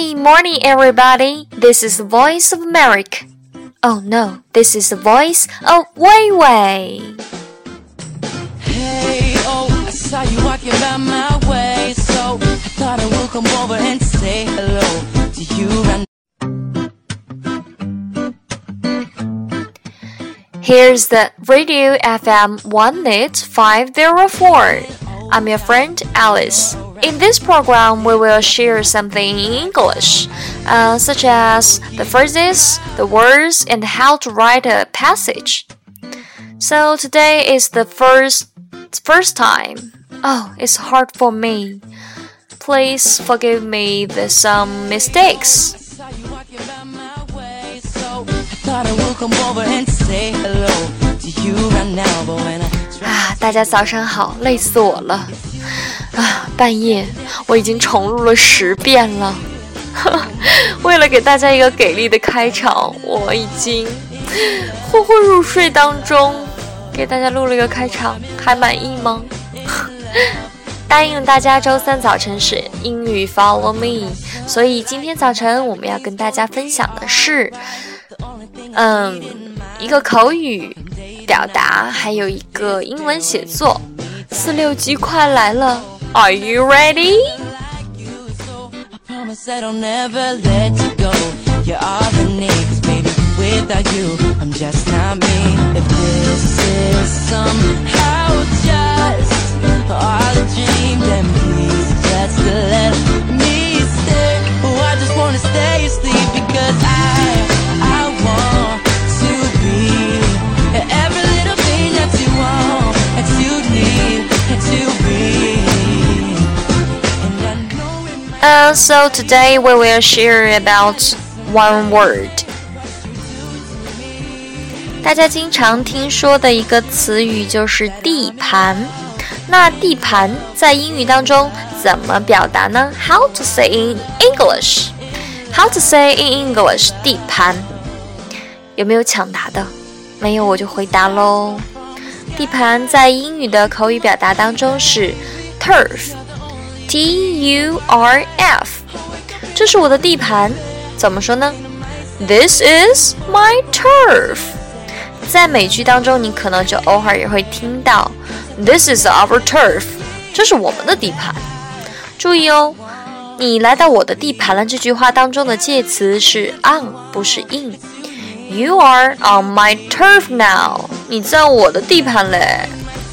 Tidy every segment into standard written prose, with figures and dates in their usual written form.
Hey, morning everybody. This is the voice of Merrick. Oh no, this is the voice of Wei Wei. Hey, oh, I saw you walking by my way, so I thought I would come over and say hello to you. Here's the Radio FM 18504. I'm your friend Alice. In this program, we will share something in English, such as the phrases, the words, and how to write a passage. So today is the first time. Oh, it's hard for me. Please forgive me the some mistakes.大家早上好，累死我了。半夜我已经重录了10遍了。为了给大家一个给力的开场，我已经昏昏入睡当中给大家录了一个开场，还满意吗？答应了大家周三早晨是英语 Follow Me， 所以今天早晨我们要跟大家分享的是一个口语表达，还有一个英文写作。4-6级快来了， Are you ready? I promise that I'll never let you go. You are the niggas, baby. Without you, I'm just not me. If this is somehow just all a dream, then please just let me stay. Oh, I just wanna stay asleep because I want to be every little thing that you want, that you need, that you be. So today we will share about one word. 大家经常听说的一个词语就是地盘。那地盘在英语当中怎么表达呢？ How to say in English? How to say in English? 地盘。有没有抢答的？没有我就回答咯。地盘在英语的口语表达当中是 turf。T-U-R-F， 这是我的地盘，怎么说呢？ This is my turf。 在美剧当中，你可能就偶尔也会听到 This is our turf， 这是我们的地盘。注意哦，你来到我的地盘了这句话当中的介词是 on， 不是 in。 You are on my turf now， 你在我的地盘嘞。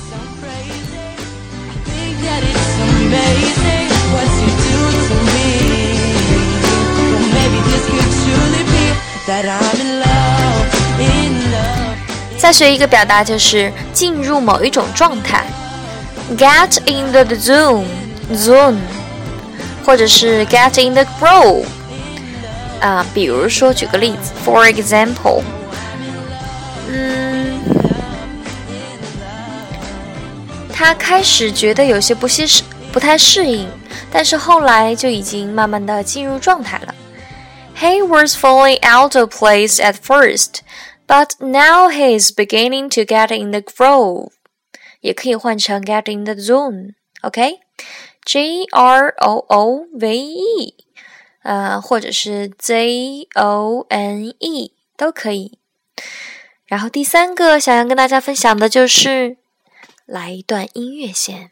再学一个表达，就是进入某一种状态 Get in the zone， 或者是 get in the groove。比如说举个例子 For example， 他开始觉得有些不太适应，但是后来就已经慢慢的進入狀態了。He was falling out of place at first, but now he is beginning to get in the groove. 也可以换成 get in the zone, OK? G-R-O-O-V-E, 或者是 Z-O-N-E 都可以。然后第三个想要跟大家分享的就是来一段音乐先。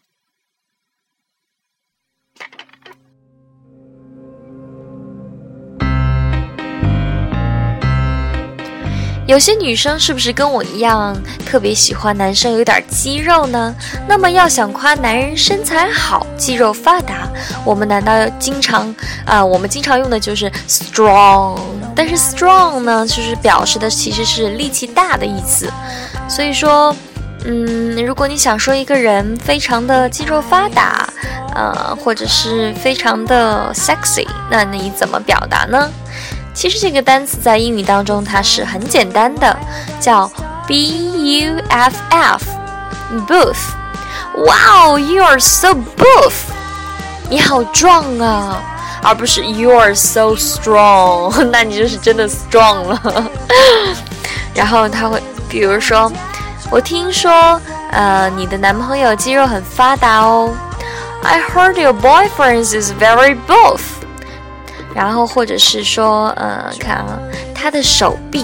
有些女生是不是跟我一样特别喜欢男生有点肌肉呢？那么要想夸男人身材好肌肉发达，我们经常用的就是 strong， 但是 strong 呢就是表示的其实是力气大的意思。所以说如果你想说一个人非常的肌肉发达或者是非常的 sexy， 那你怎么表达呢？其实这个单词在英语当中它是很简单的，叫 B-U-F-F Buff。 Wow, you are so buff， 你好壮啊，而不是 You are so strong， 那你就是真的 strong 了。然后他会比如说，我听说你的男朋友肌肉很发达哦， I heard your boyfriend is very buff。 然后或者是说，看啊，他的手臂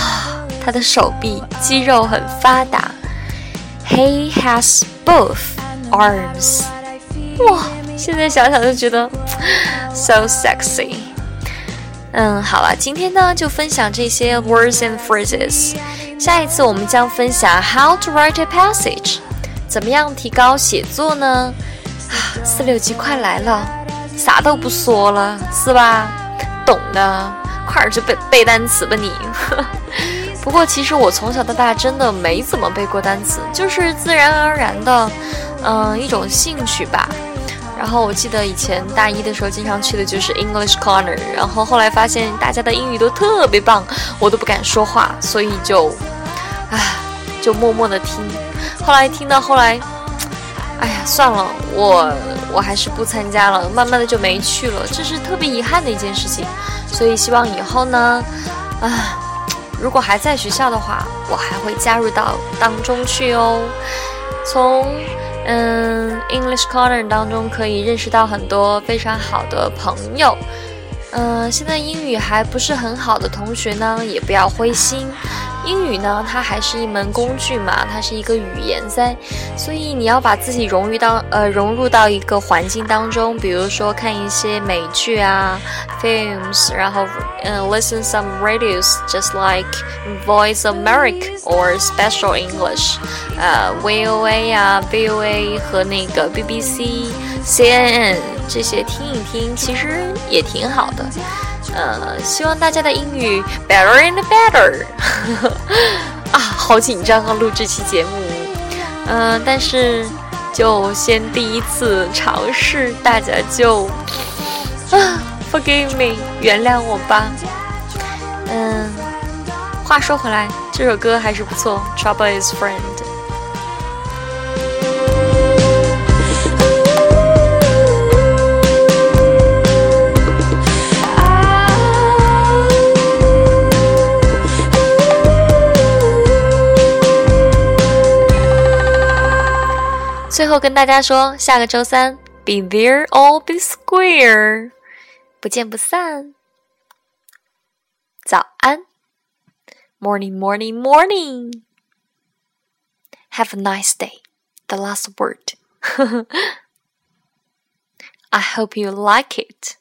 肌肉很发达。He has both arms. 哇，现在想想就觉得 so sexy。好了，今天呢就分享这些 words and phrases。下一次我们将分享 how to write a passage， 怎么样提高写作呢？4、6级快来了，啥都不说了，是吧？懂的，快点去背单词吧你。不过其实我从小到大真的没怎么背过单词，就是自然而然的，一种兴趣吧。然后我记得以前大一的时候经常去的就是 English Corner， 然后后来发现大家的英语都特别棒，我都不敢说话，所以就默默的听。后来听到后来，哎呀算了，我还是不参加了，慢慢的就没去了，这是特别遗憾的一件事情。所以希望以后呢，如果还在学校的话，我还会加入到当中去哦。从English Corner 当中可以认识到很多非常好的朋友。现在英语还不是很好的同学呢，也不要灰心。英语呢，它还是一门工具嘛，它是一个语言噻，所以你要把自己融入到一个环境当中，比如说看一些美剧啊 films， 然后listen some radios just like Voice of America or Special English， VOA 啊 VOA 和那个 BBC CNN 这些听一听，其实也挺好的。希望大家的英语 better and better 好紧张啊，录这期节目。但是就先第一次尝试，大家就forgive me， 原谅我吧。话说回来，这首歌还是不错 Trouble is Friend。最后跟大家说，下个周三 Be there or be square， 不见不散。早安 Morning, morning, morning. Have a nice day. The last word. I hope you like it.